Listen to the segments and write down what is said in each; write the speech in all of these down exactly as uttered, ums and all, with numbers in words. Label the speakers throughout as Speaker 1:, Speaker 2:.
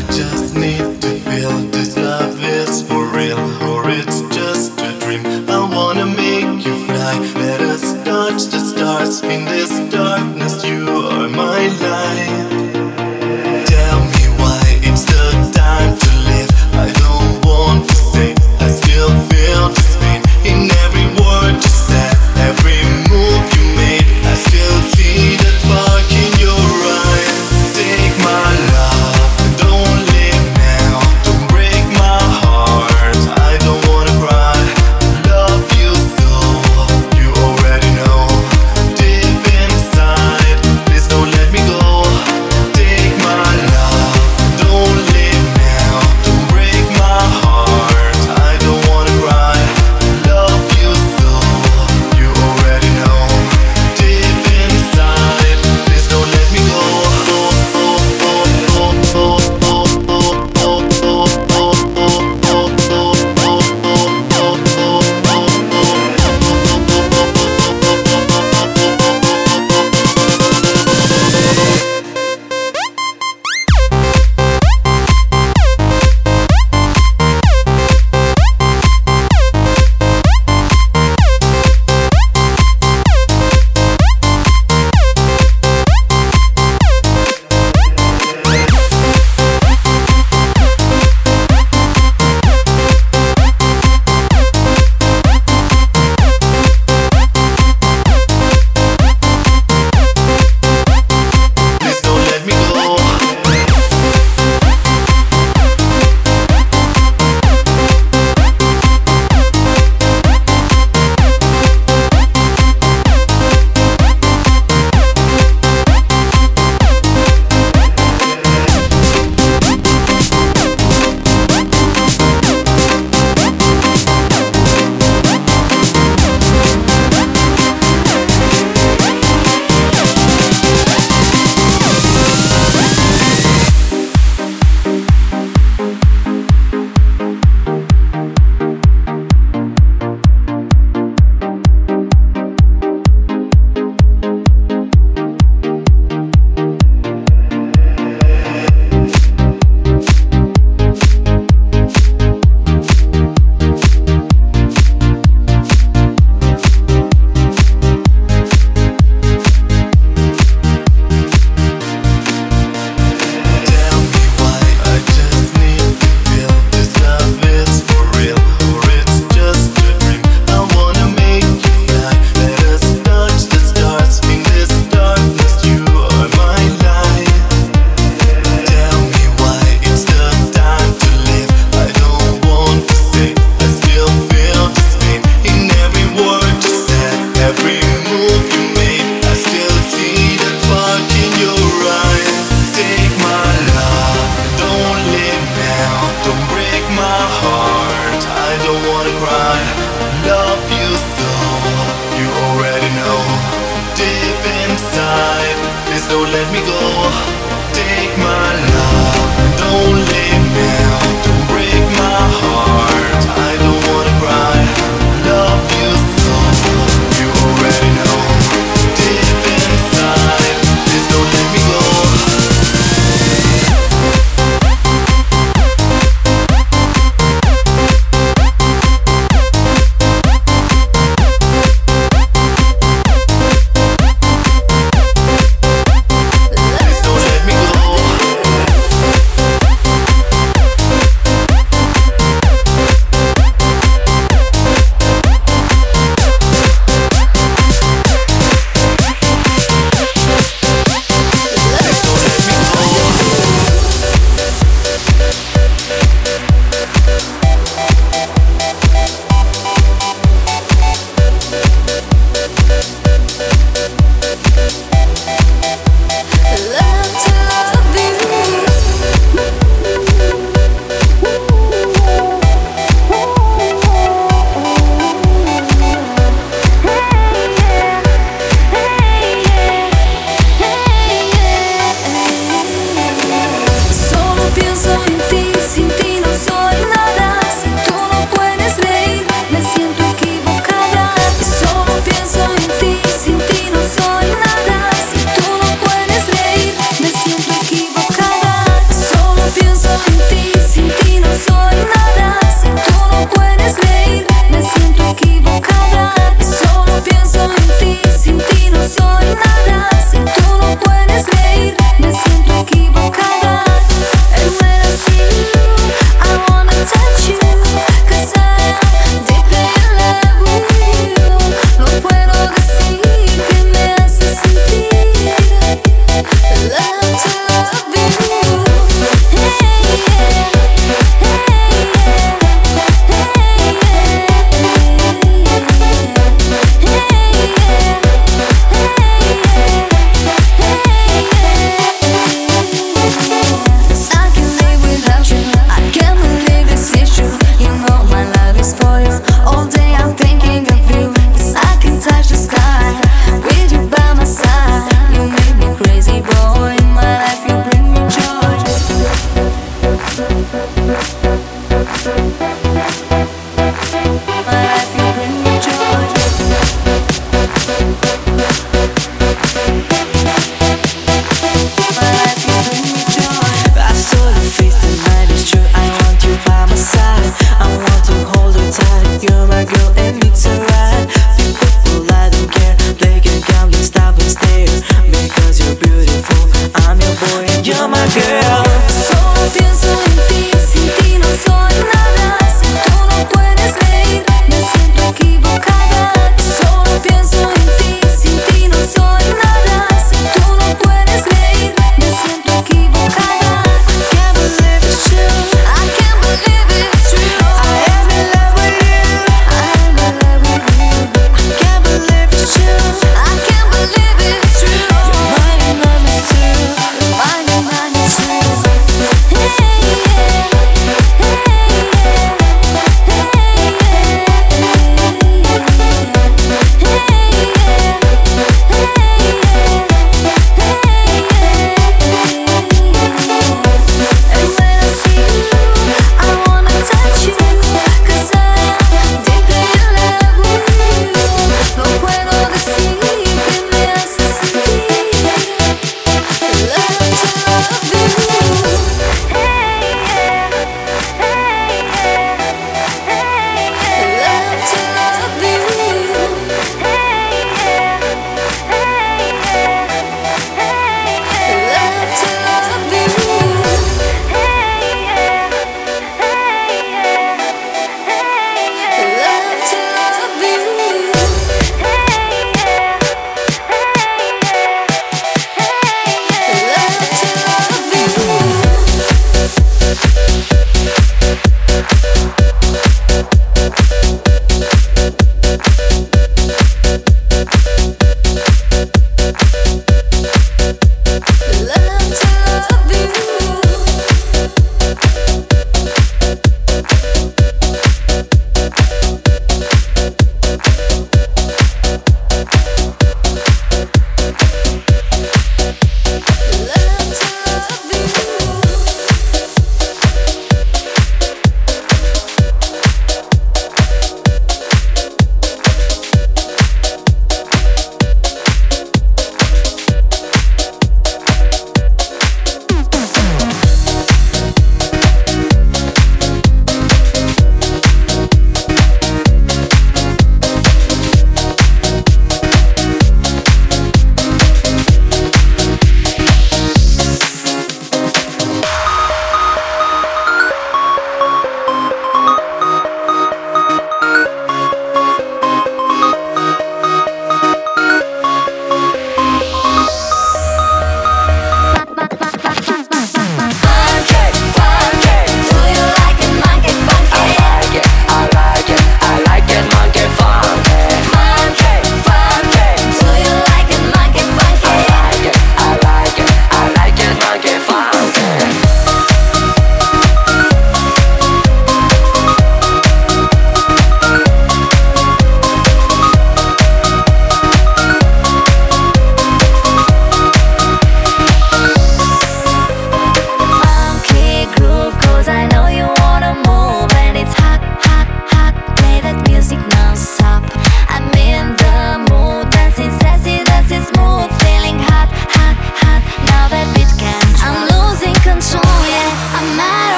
Speaker 1: just need to feel this love is for real, or it's just a dream. I wanna make you fly, let us touch the stars. In this darkness you are my light. Tell me why it's the time to live. I don't want to say, I still feel this pain in every word you said, every move you made. I still see that spark in your eyes. Take my love, don't leave now, don't break my heart. I don't wanna cry, love you so, you already know. Deep inside, please don't let me go. Take my love, don't leave now, don't break my heart. I don't wanna cry, love you so, you already know. Deep inside, please don't let me go. Please don't let me go. Tell me why I just need to feel this love is for real, or it's just a dream. I wanna make you fly, let us touch the stars. In this darkness you are my light. Tell me why it's the time to live. I don't want to say, I still feel this pain in every word you said, every move you made. I still see that spark in your eyes. Take my love, don't leave now, don't break my heart. I don't wanna cry, love you so, you already know. Deep inside, please don't let me go. Take my love, don't leave now, don't break my heart. I don't wanna cry, love you so, you already know. Deep inside, please don't let me go. Please don't let me go.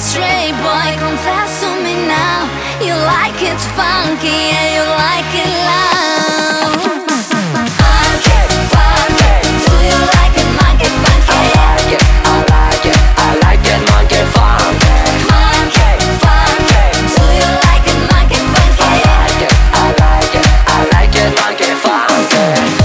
Speaker 2: straight, boy, confess to me now. You like it funky, yeah, you like it loud. Funky, funky, do you like it monkey funky?
Speaker 3: I like it, I like it, I like it monkey funky.
Speaker 2: Monkey, funky, do you like it monkey funky?
Speaker 3: I like it, I like it, I like it monkey funky.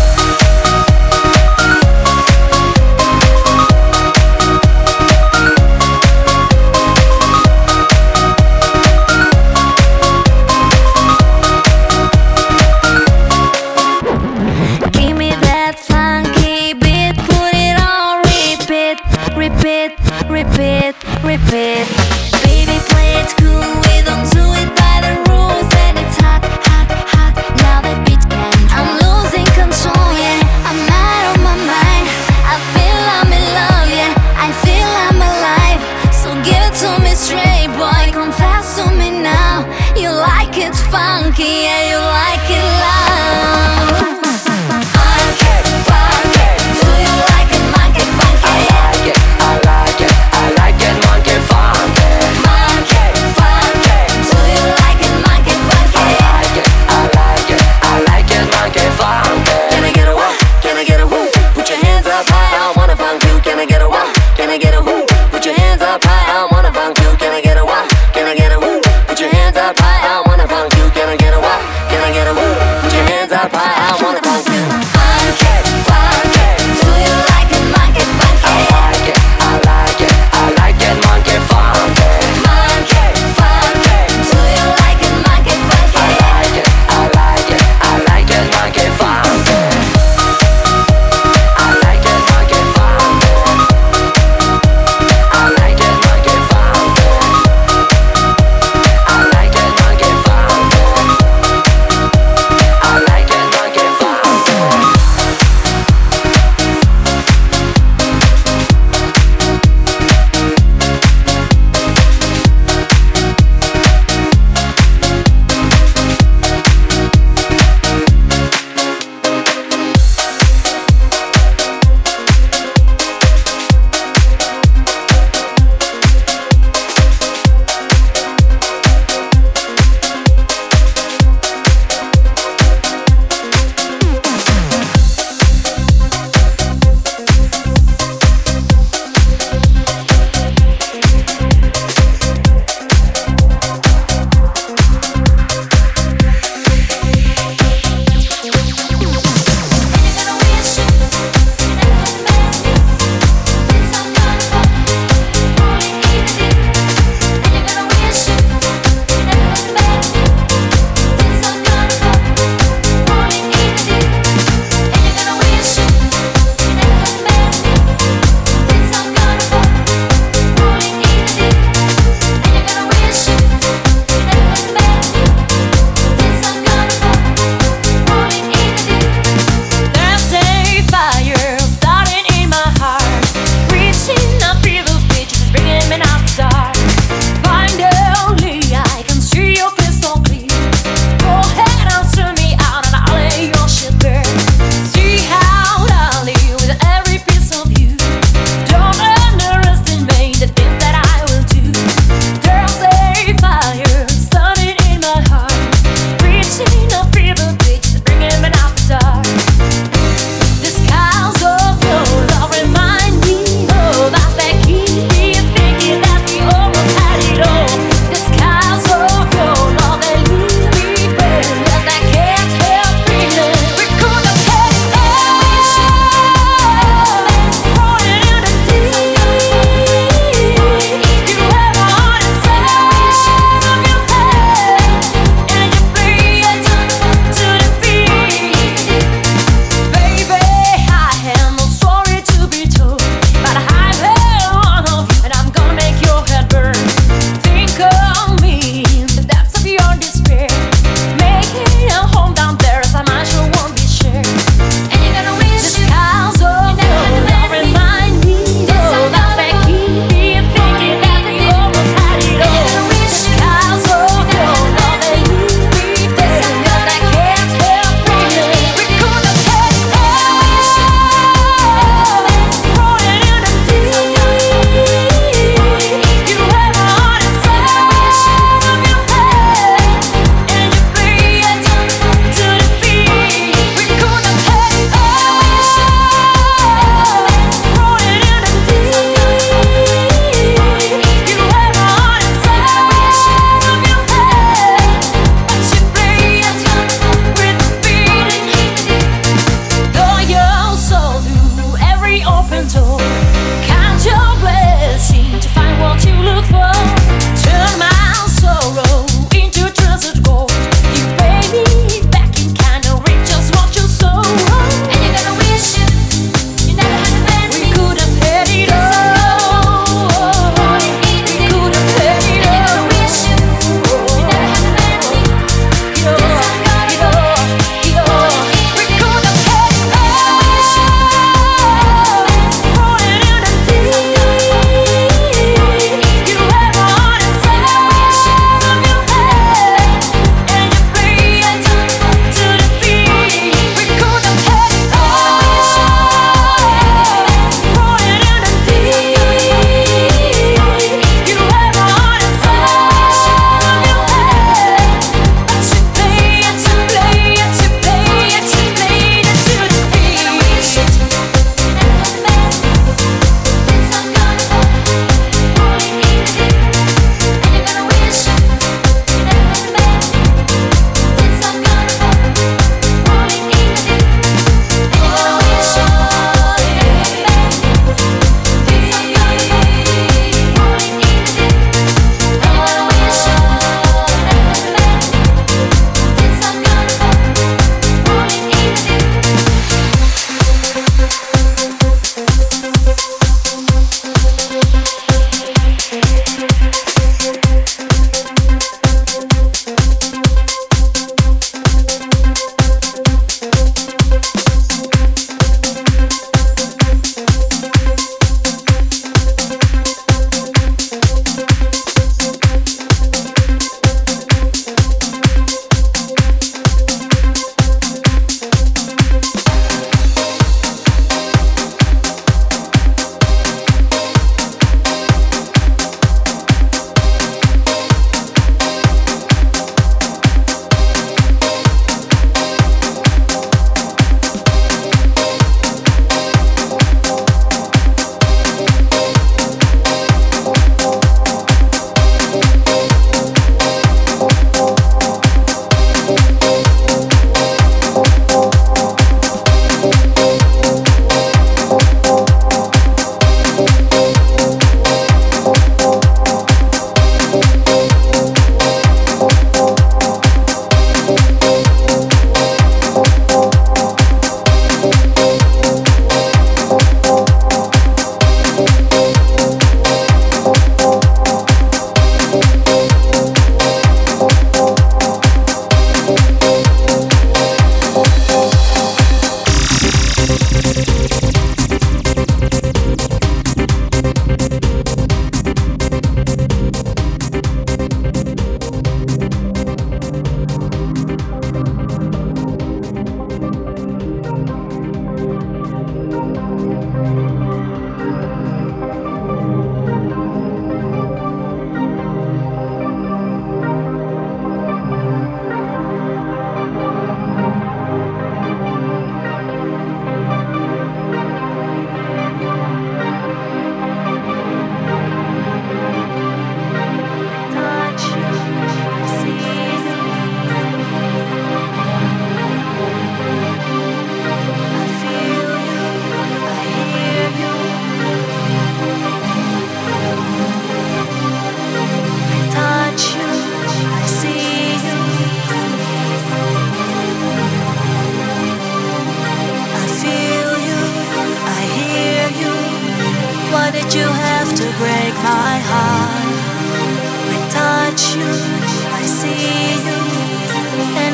Speaker 2: Repeat, repeat, repeat. Baby, play it cool, we don't do it by the rules. And it's hot, hot, hot, now that beat can. I'm losing control, yeah, I'm out of my mind. I feel I'm in love, yeah, I feel I'm alive. So give it to me straight, boy, confess to me now. You like it funky, yeah, you like it loud.
Speaker 3: Can I get a woo?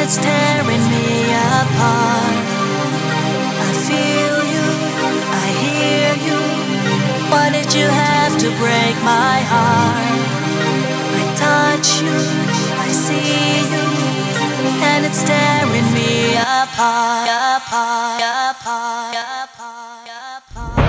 Speaker 4: it's tearing me apart. I feel you, I hear you. Why did you have to break my heart? I touch you, I see you, and it's tearing me apart, apart, apart, apart, apart.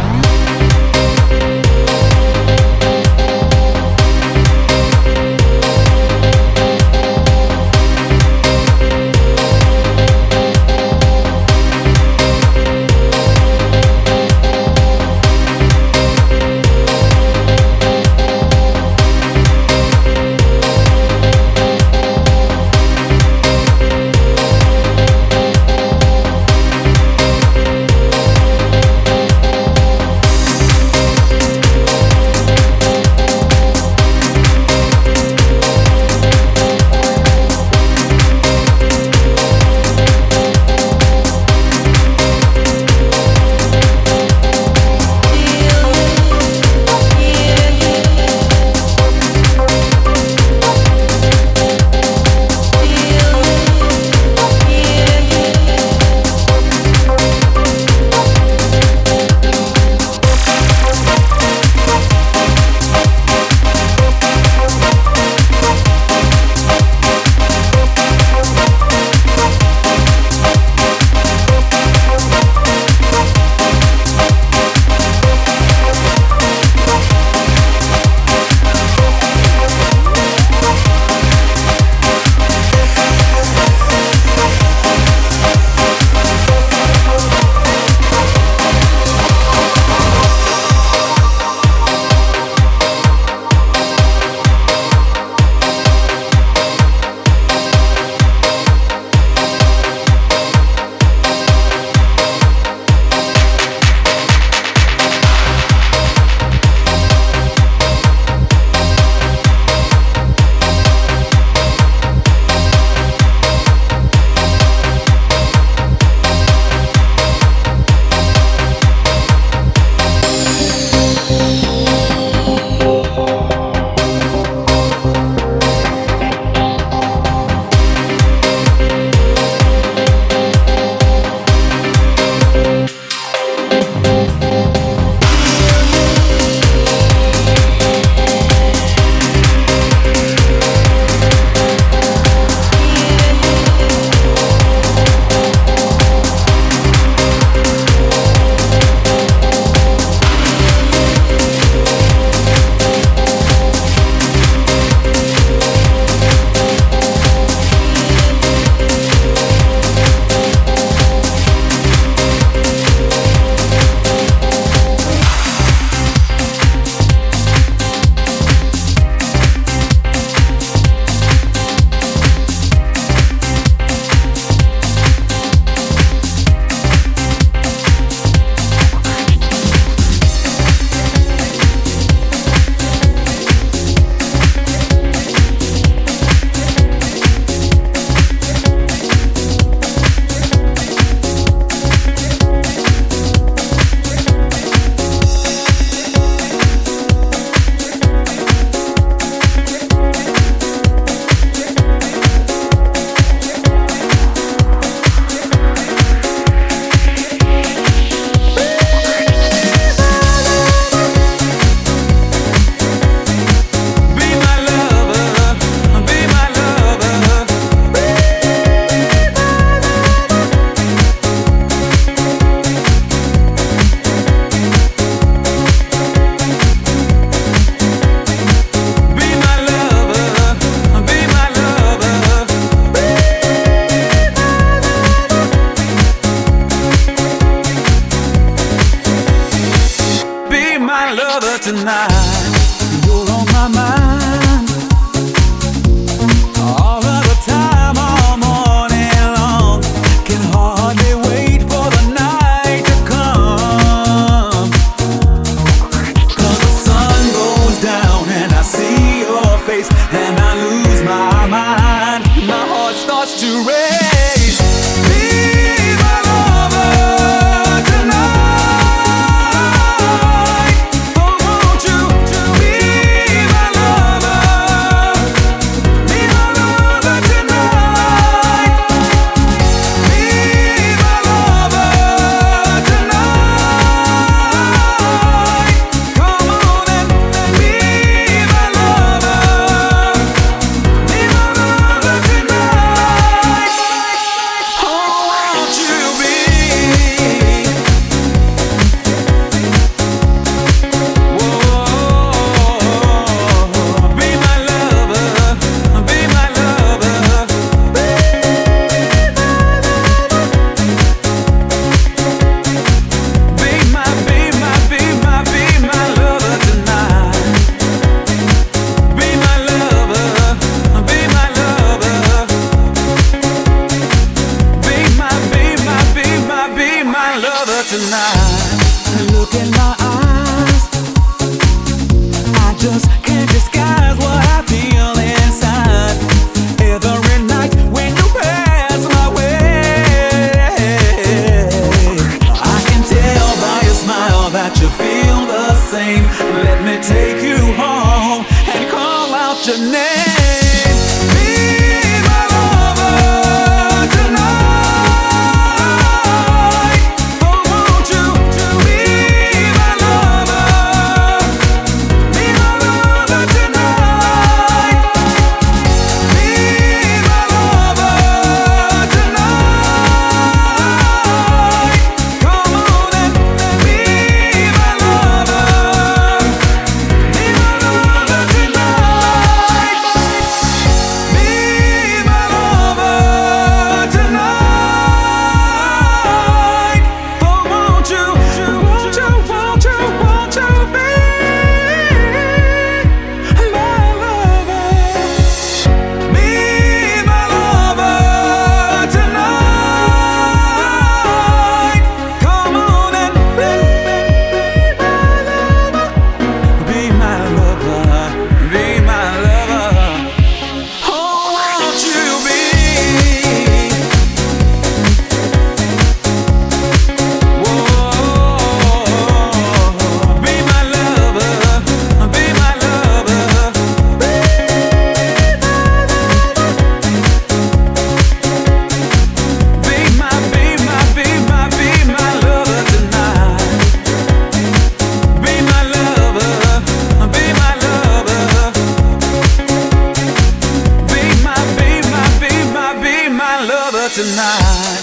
Speaker 5: tonight.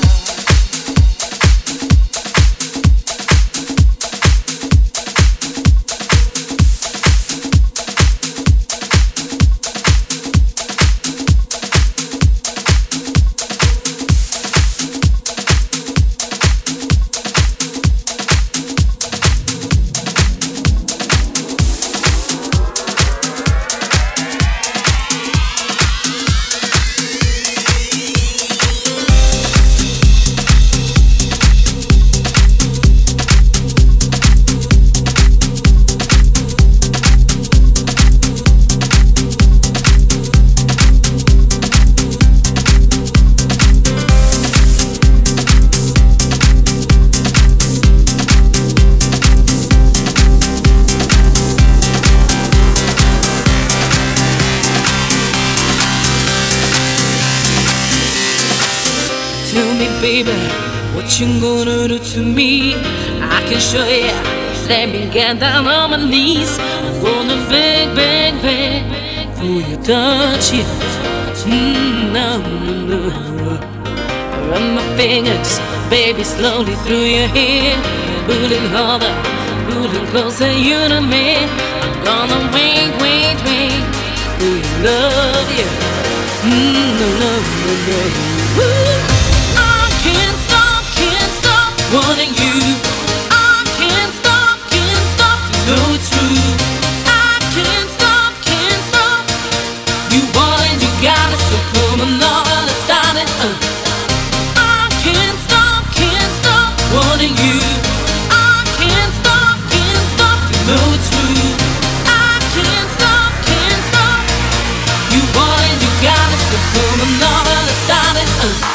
Speaker 6: Baby, what you gonna do to me? I can show ya. Let me get down on my knees. I'm gonna beg, beg, beg for your touch, yeah. Mm, no, no, no. Run my fingers, baby, slowly through your hair. Pulling harder, pulling closer, you to me. I'm gonna wait, wait, wait for your love, yeah. Mm, no, no, no, no. Woo. Can't stop, can't stop wanting you. I can't stop, can't stop, you know it's true. I can't stop, can't stop. You want it, you got it, so come on, now let's start it. Uh. I can't stop, can't stop wanting you. I can't stop, can't stop, you know it's true. I can't stop, can't stop. You want it, you got it, so come on, now let's start it. Uh.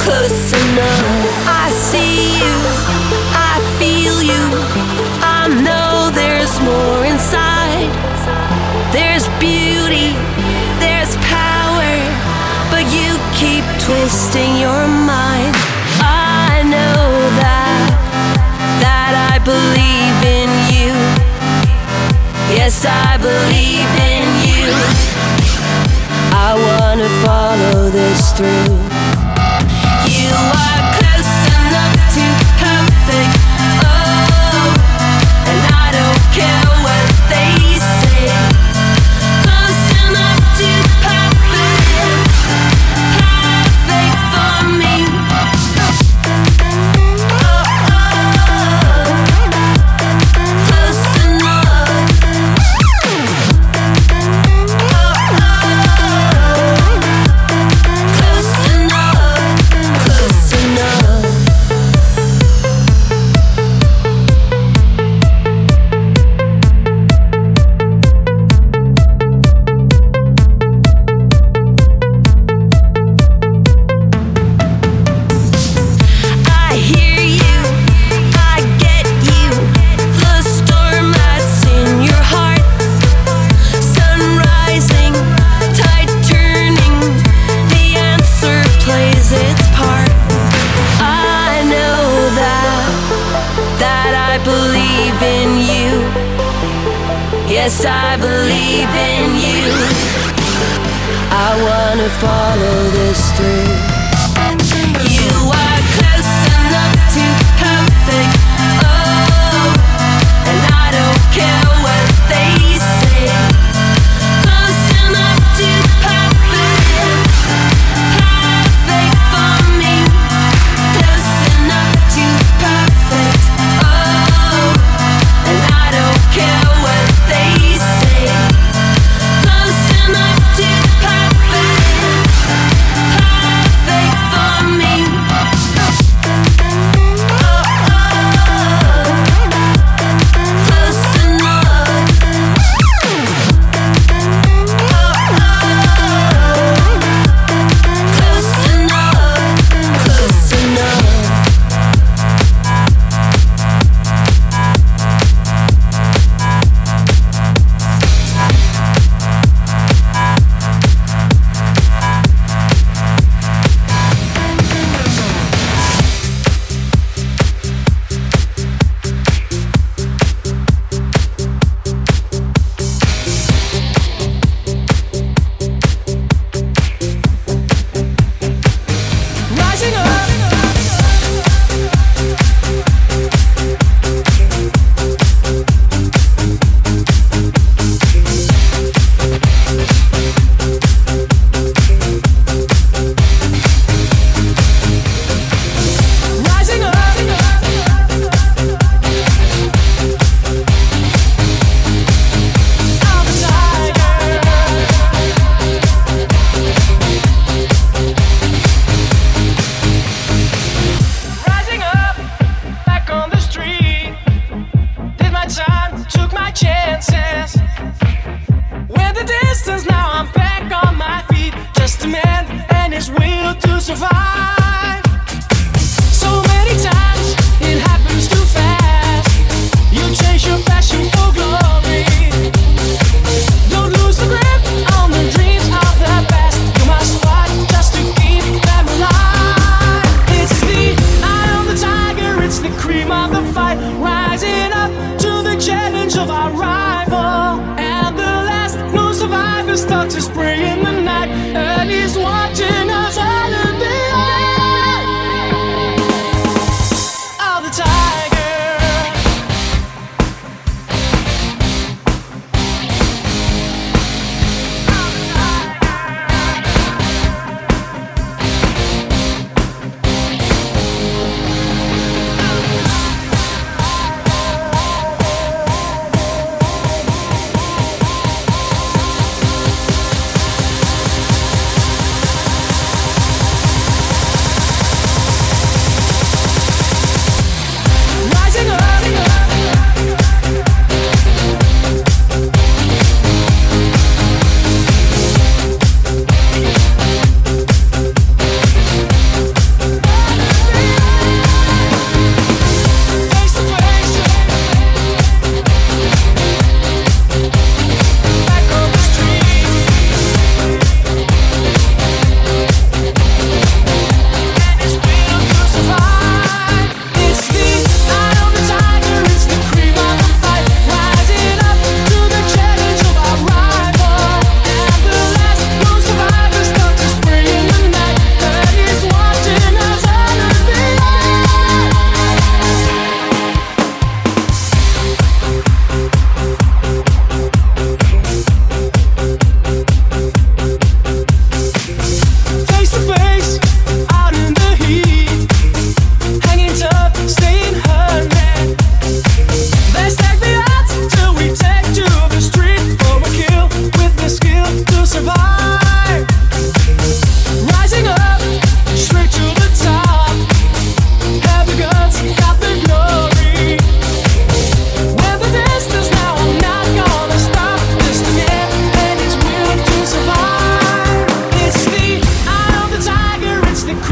Speaker 4: close enough. I see you, I feel you. I know there's more inside. There's beauty, there's power, but you keep twisting your mind. I know that, that I believe in you. Yes, I believe in you. I wanna follow this through. You are close enough to perfect, oh, and I don't care what they say. Close enough to perfect, perfect for me. Oh, oh, close enough. Oh, oh, close enough, close enough. I hear you, I get you. The storm that's in your heart. Sun rising, tide turning. The answer plays its part. I know that, that I believe in you. Yes, I believe in you. I wanna follow this through. You are close enough to perfect, oh, and I don't care what they say. Close enough to perfect, perfect for me. Close enough to perfect, oh, and I don't care what they say. Close enough to perfect, perfect.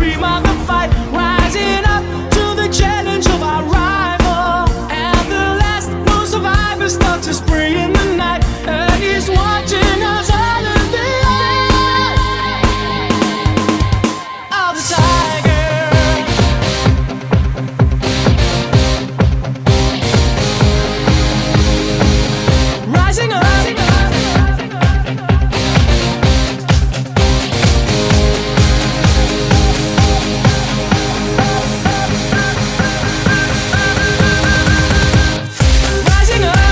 Speaker 5: cream of the fight, rising up to the challenge of our rival. And the last known survivor starts to spring in the night, and he's watching us all in the eye of the tiger. Rising up. Rising up.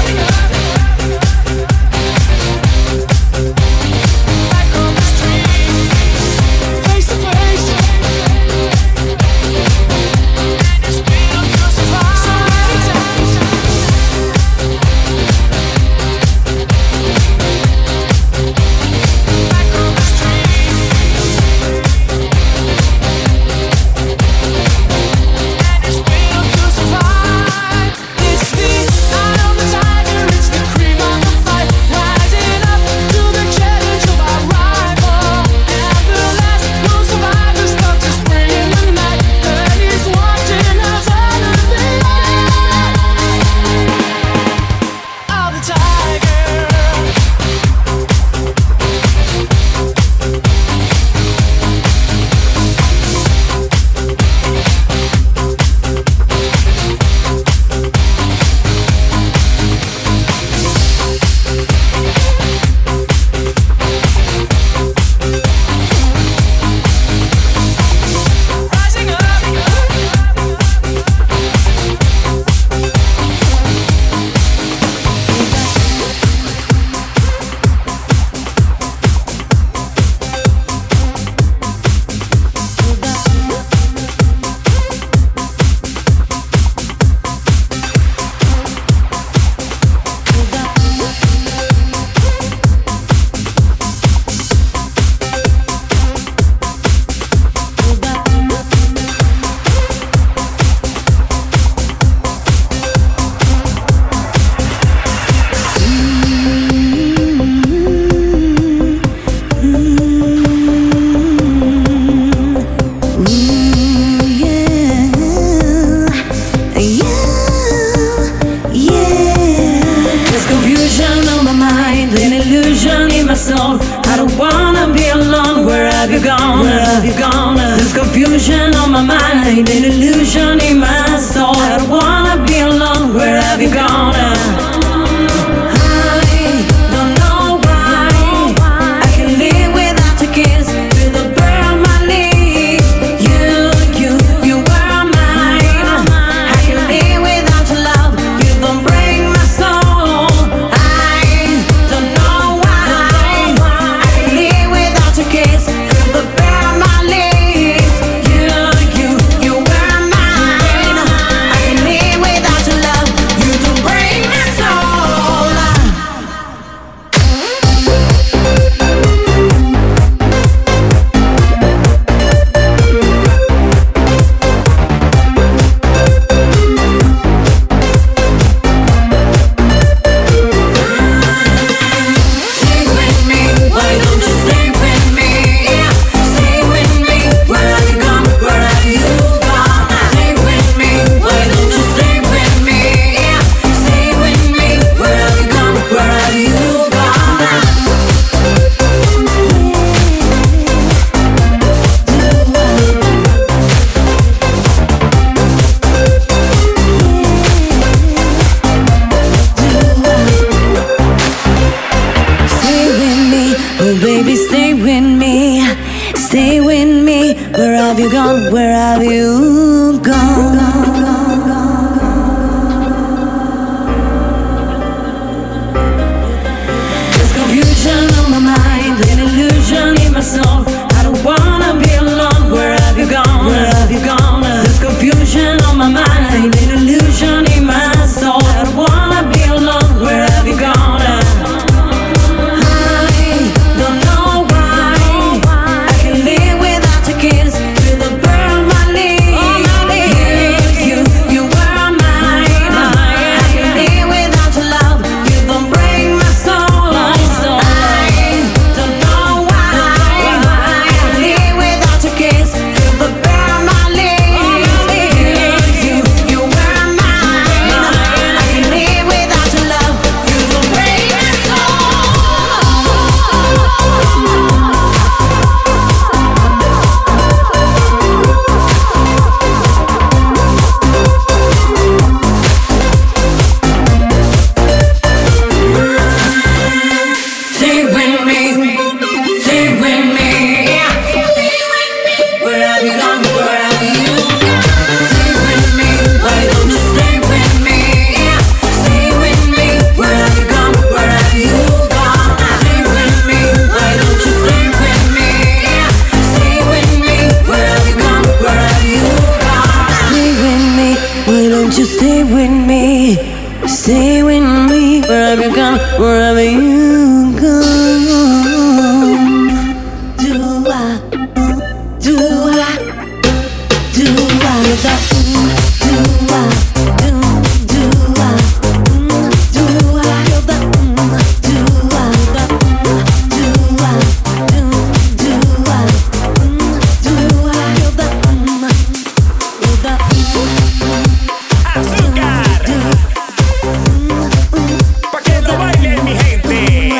Speaker 5: Back on the street, face to face. And it's been a good survive. So many times. Back on the street, and it's been a good survive. It's the eye of the tiger, it's the cream of the fight, rising up to the challenge of our rival. And the last known survivor starts to spring in the night, and he's watching us all in the eye of the tiger. Rising up.
Speaker 6: There's confusion on my mind, an illusion in my soul. I don't wanna be alone. Where have you gone? Where have you gone? There's confusion on my mind, an illusion in my soul. I don't wanna be alone. Where have you gone? I don't know why I can live without a kiss. Feel the burn on my lips. You, you, you were mine. I can live without your love. You don't break my soul. I don't know why I can live without your kiss. Feel the burn on my lips. You, you, you were mine. I can live without your love. You don't break my soul. Stay with me, why don't you stay with me? Stay with me, where have you gone? Where have you gone? Stay with me, why don't you stay with me? Stay with me, where have you gone? Where have you Stay with me, oh baby, stay with me. Stay with me, where have you gone? Where have you gone? There's confusion on my mind, an illusion in my soul. I don't wanna be alone. Where have you gone? Where have you gone? There's confusion on my mind, an illusion in my soul. I don't wanna be alone. Where have you gone? I don't know why I can live without a kiss. Feel the burn on my lips. You,
Speaker 7: you stay with me? Stay with me wherever you come, wherever you go. Do I, do I, do I, do I, do I, do, do I, do I, do I, do I, do I, do, do I, do I, do
Speaker 8: Azúcar, pa' que lo bailen mi gente.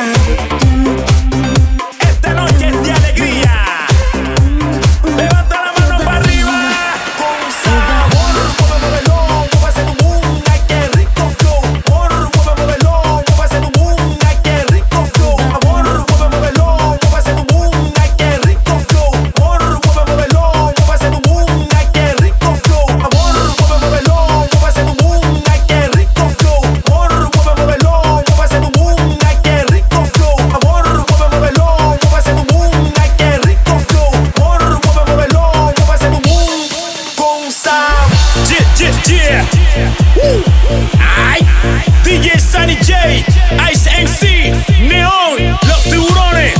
Speaker 8: Esta noche es de alegría. Levanta la mano para arriba con sabor. Mueve, muévelo, muévase tu boom. Ay, qué rico flow. Amor, mueve, muévelo, muévase tu boom. Ay, qué rico flow. Amor, mueve, muévelo, muévase tu boom. Ay, qué rico flow. Amor, mueve, muévelo, muévase tu boom. Ay, qué rico flow. Amor, mueve, muévelo, muévase tu boom. Ay, qué rico flow. Amor, mueve, muévelo, muévase tu boom. Ay, qué rico flow. Amor, mueve, muévelo, muévase tu boom. Ay, qué rico flow. Amor, mueve, muévelo, muévase tu boom. Con Sam. Yeah, yeah, yeah. Ay, D J Sunny J, Ice M C, Neon, los tiburones.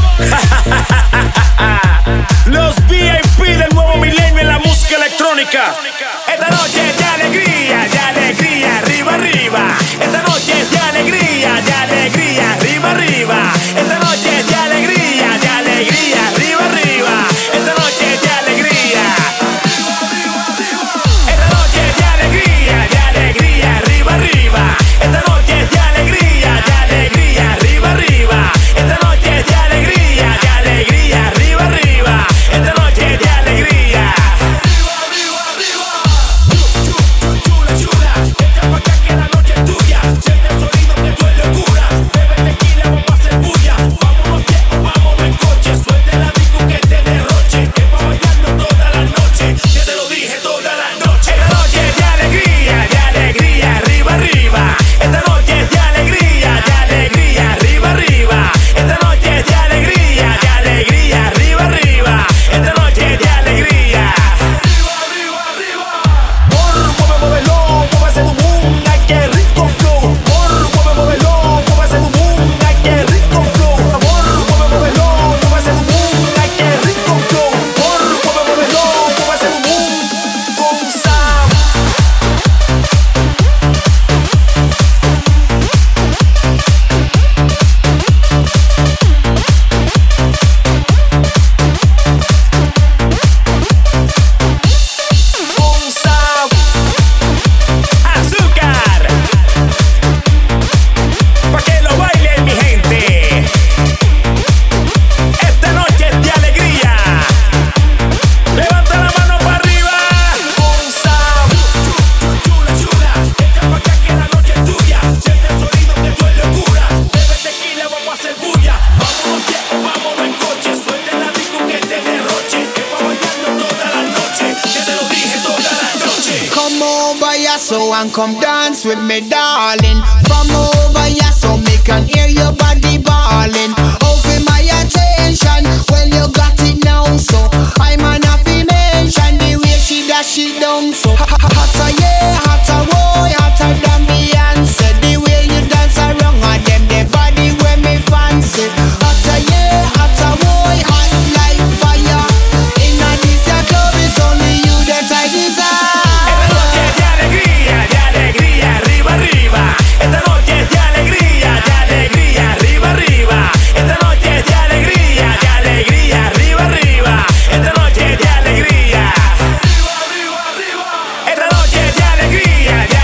Speaker 8: Los V I P del nuevo milenio en la música electrónica. Esta noche es de alegría, de alegría, arriba, arriba. Esta noche es de alegría, de alegría, arriba, arriba. Esta noche es de alegría, de alegría, arriba, arriba. Esta noche es de alegría. Esta noche es de alegría, de alegría, arriba, arriba. Esta noche es de alegría, de alegría, arriba, arriba. Esta noche es de alegría, de alegría, arriba, arriba. Esta noche es de alegría. Chula, chula, entra pa' acá que la noche es tuya. Siente el sonido que tú es locura. Bebe tequila, vamos a hacer bulla. Vámonos viejos, vámonos en coche. Suelte la disco que te derroche. Que pa' bailarlo toda la noche. Ya te lo dije toda la noche. Esta noche es de alegría, de alegría, arriba, arriba. Esta noche es de alegría, de alegría, arriba, arriba. Esta noche es de alegría, de alegría, arriba, arriba. Esta noche es de alegría. Arriba, arriba, arriba. Por, mueve, muévelo, muévase tu boom. Ay, qué rico flow. Por, mueve, muévelo, muévase tu boom. Ay, qué rico flow. Amor, mueve, muévelo, muévase tu boom. Ay, qué rico flow. Por, mueve, muévelo, muévase tu boom. Con Sam. Con Sam. Azúcar, pa' que lo bailen mi gente. Esta noche es de alegría. Levanta la mano para arriba. Con Sam. Chula, chula, entra pa' acá que la noche es tuya. Siente el sonido que tú es locura. Bebe tequila, vamos a hacer bulla. Vámonos viejos, vámonos en coche. Suelte la disco que te derroche. Que pa' bailarlo toda la noche. Ya te lo dije toda la noche.
Speaker 9: Come over here so and come dance with me, darling. From over here so me can hear your body bawling. Over my attention, well you got it now, so I'm an happy mention the way she dash it down. So ha- ha- hotter, yeah, hotter, boy, hotter than Beyonce. The way you dance around and them the body where me fancy. Hotter, yeah, hotter, boy, hot like fire. Inna this your club it's only you that I desire.
Speaker 8: Esta noche es de alegría, de alegría, arriba, arriba. Esta noche es de alegría, de alegría, arriba, arriba. Esta noche es de alegría, de alegría, arriba, arriba. Esta noche es de alegría. Arriba, arriba, arriba. Esta noche es de alegría, de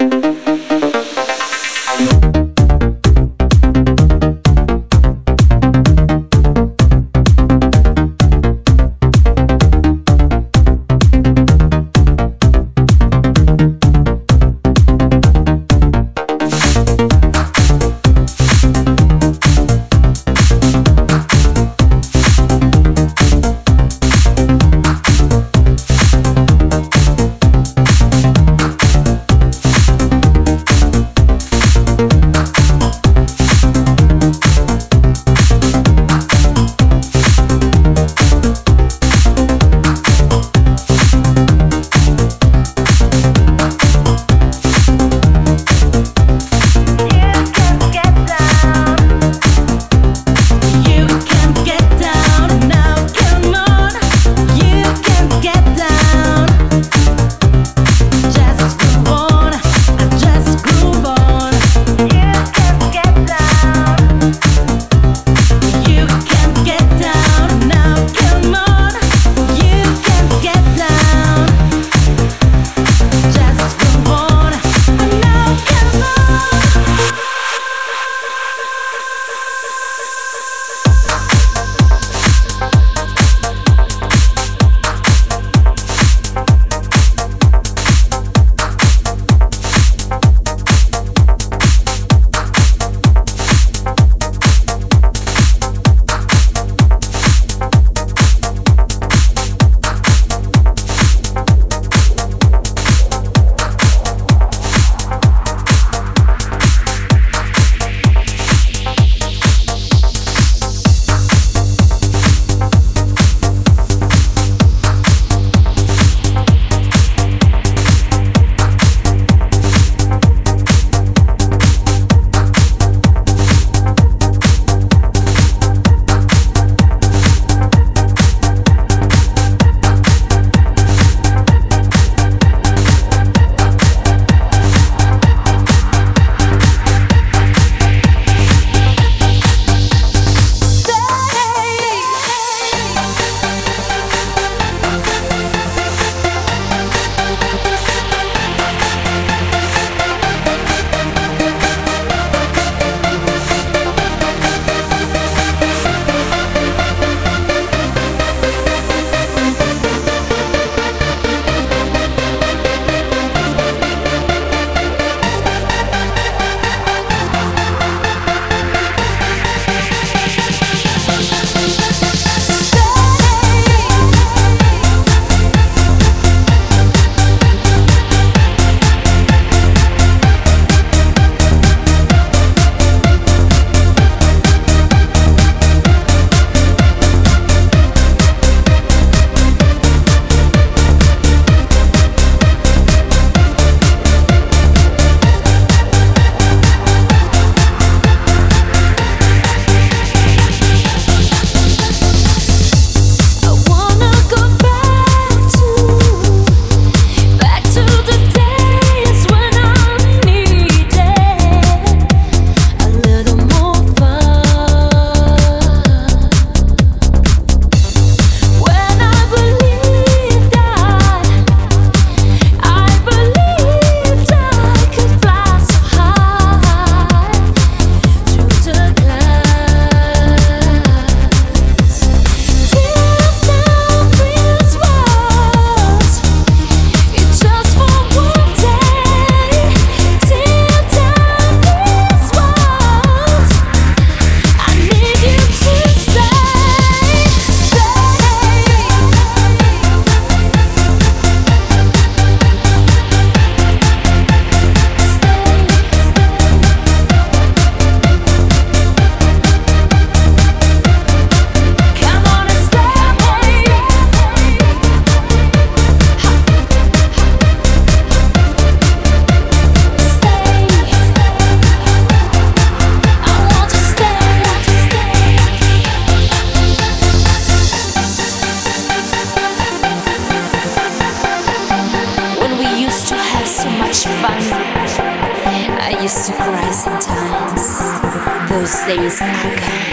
Speaker 2: used to cry sometimes. Those days are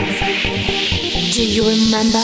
Speaker 2: gone. Do you remember?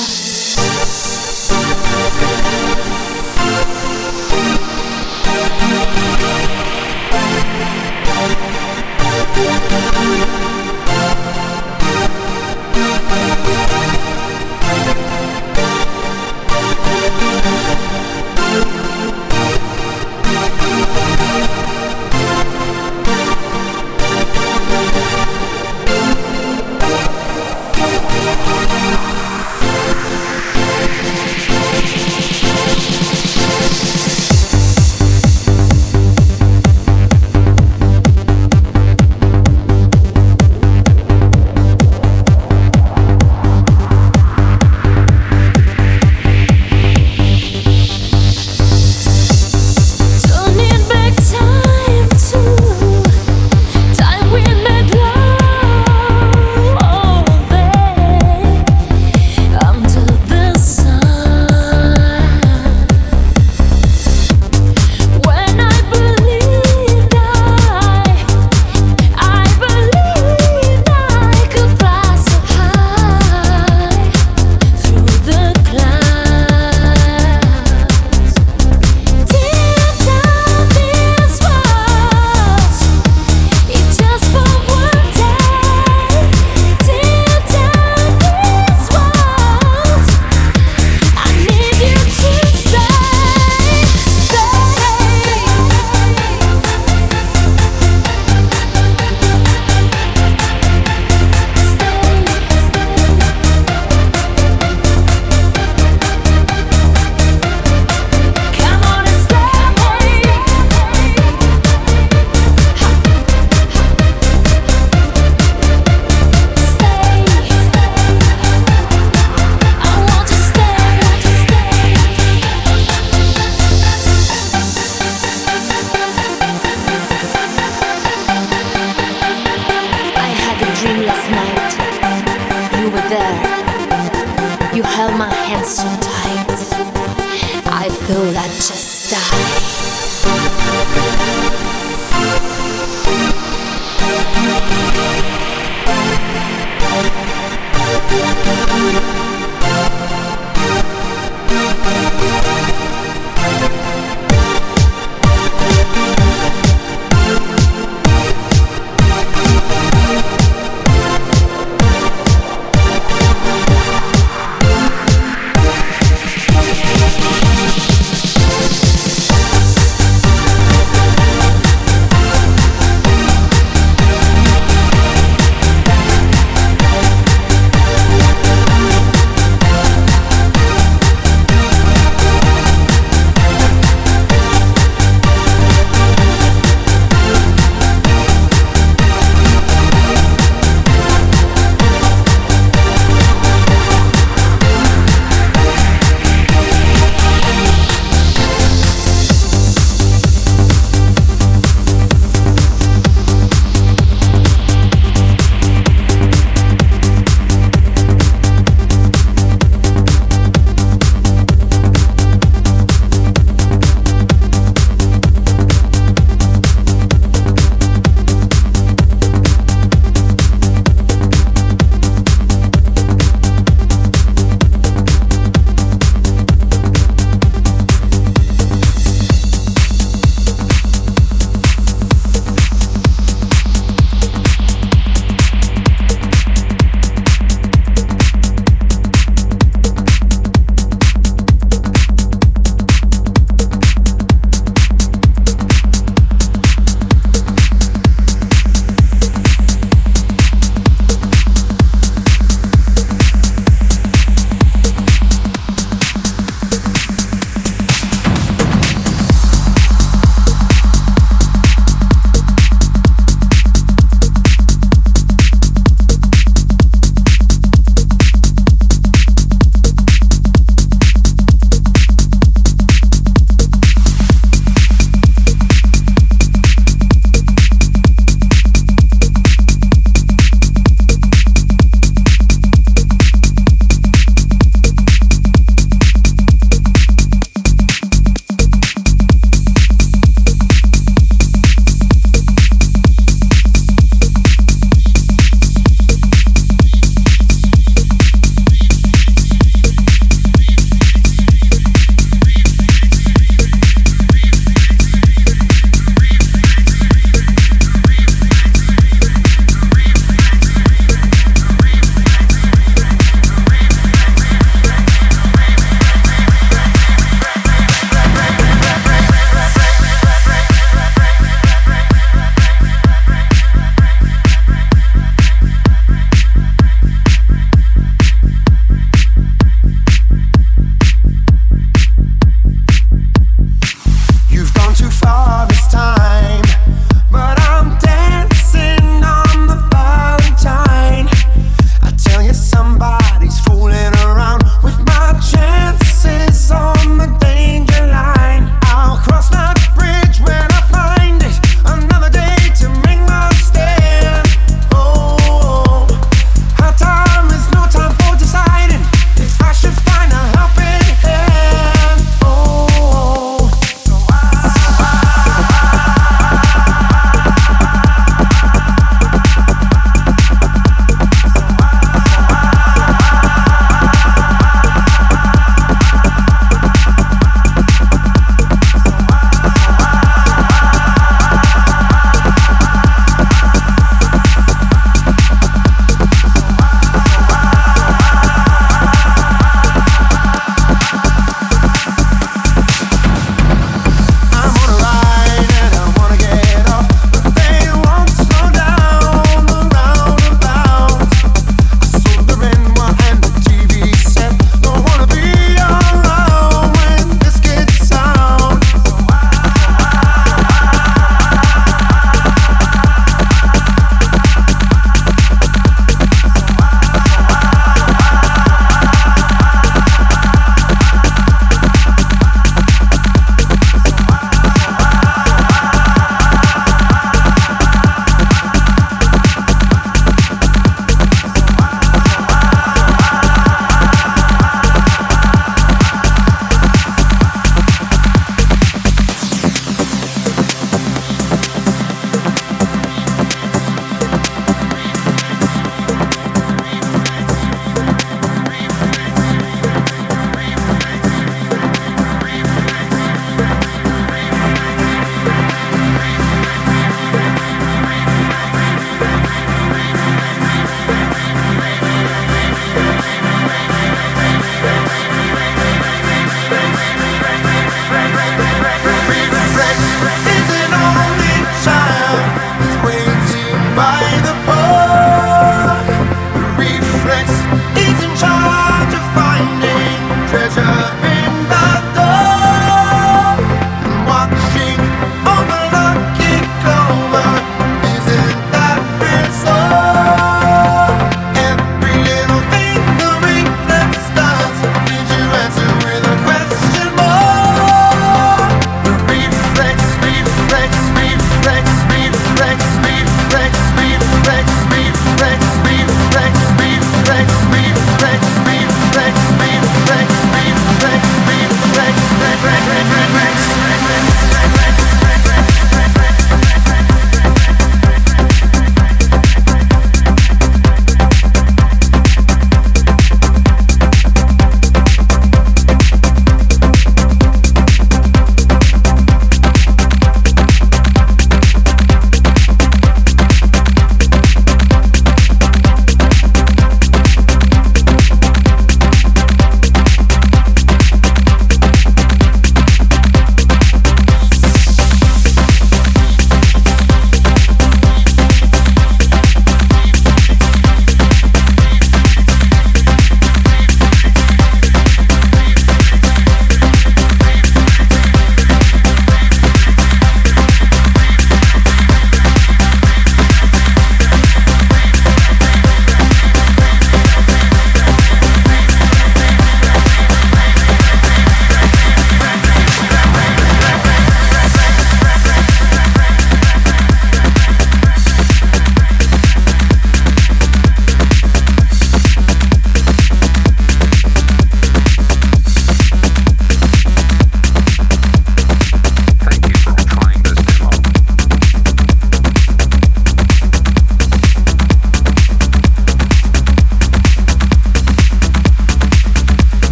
Speaker 2: held my hands so tight. I thought I'd just die.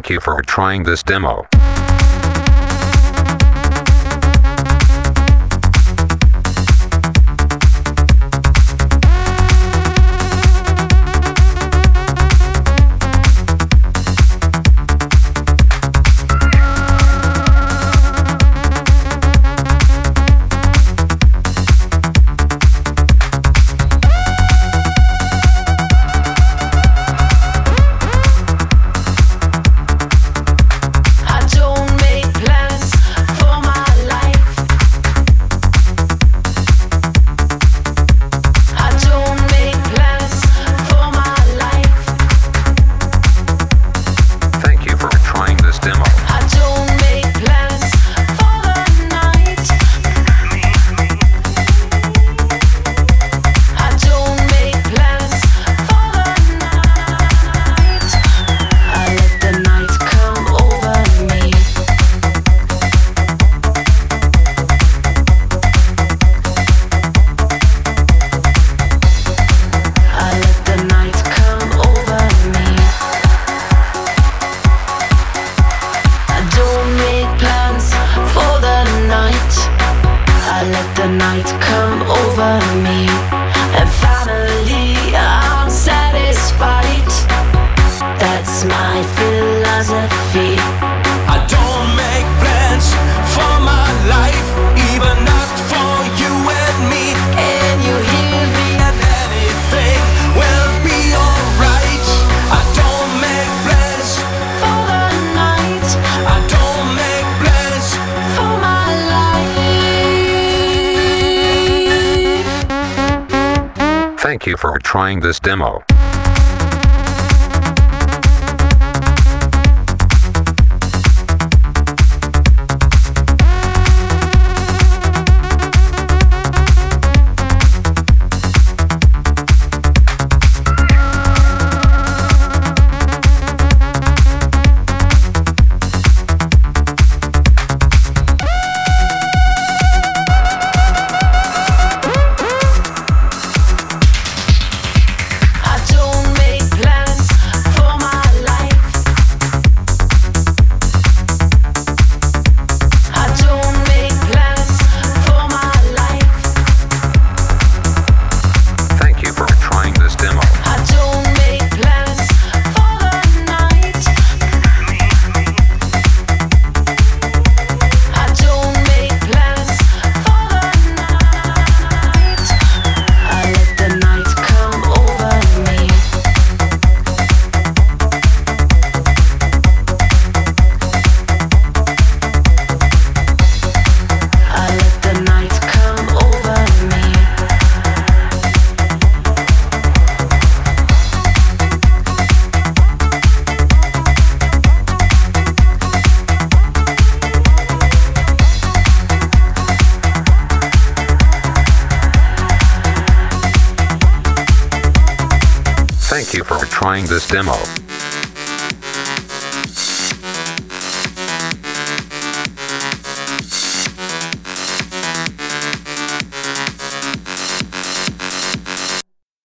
Speaker 10: Thank you for trying this demo.
Speaker 5: I don't make plans for my life. I don't make plans for my life.
Speaker 10: Thank you for trying this demo.
Speaker 5: I don't make plans for the night. I don't make plans for the night. I let the night come over me. I let the night come over me. I don't make plans for the night. I let the night come over me. And finally I'm satisfied. That's my philosophy.
Speaker 8: I don't make plans for my life, even not for you and me.
Speaker 5: Can you hear me?
Speaker 8: And anything will be alright. I don't make plans,
Speaker 5: For the night,
Speaker 8: I don't make plans.
Speaker 5: for my life.
Speaker 10: Thank you for trying this demo.
Speaker 5: I don't make plans for my life. I don't make plans for my life.
Speaker 10: Thank you for trying this demo.
Speaker 5: I don't make plans for the night. I don't make plans for the night. I let the night come over me. I let the night come over me.
Speaker 10: Thank you for trying this demo.